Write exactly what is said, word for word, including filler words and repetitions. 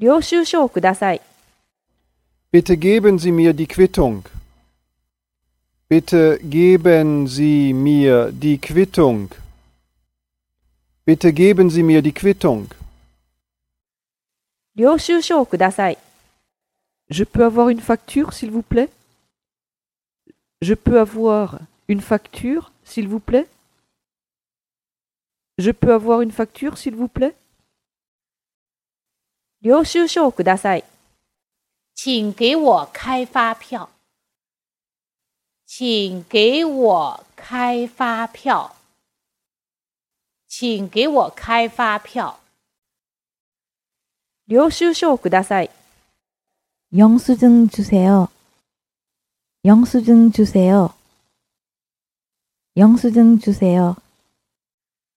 領収書をください。 Bitte geben Sie mir die Quittung. Bitte geben Sie mir die Quittung. Bitte geben Sie mir die Quittung. 領収書をください。 Je peux avoir une facture, s'il vous plaît? Je peux avoir une facture, s'il vous plaît? Je peux avoir une facture, s'il vous plaît? 領収書をください。 请给我开发票。请给我开发票。请给我开发票。 領収書をください。 영수증 주세요. 영수증 주세요. 영수증 주세요.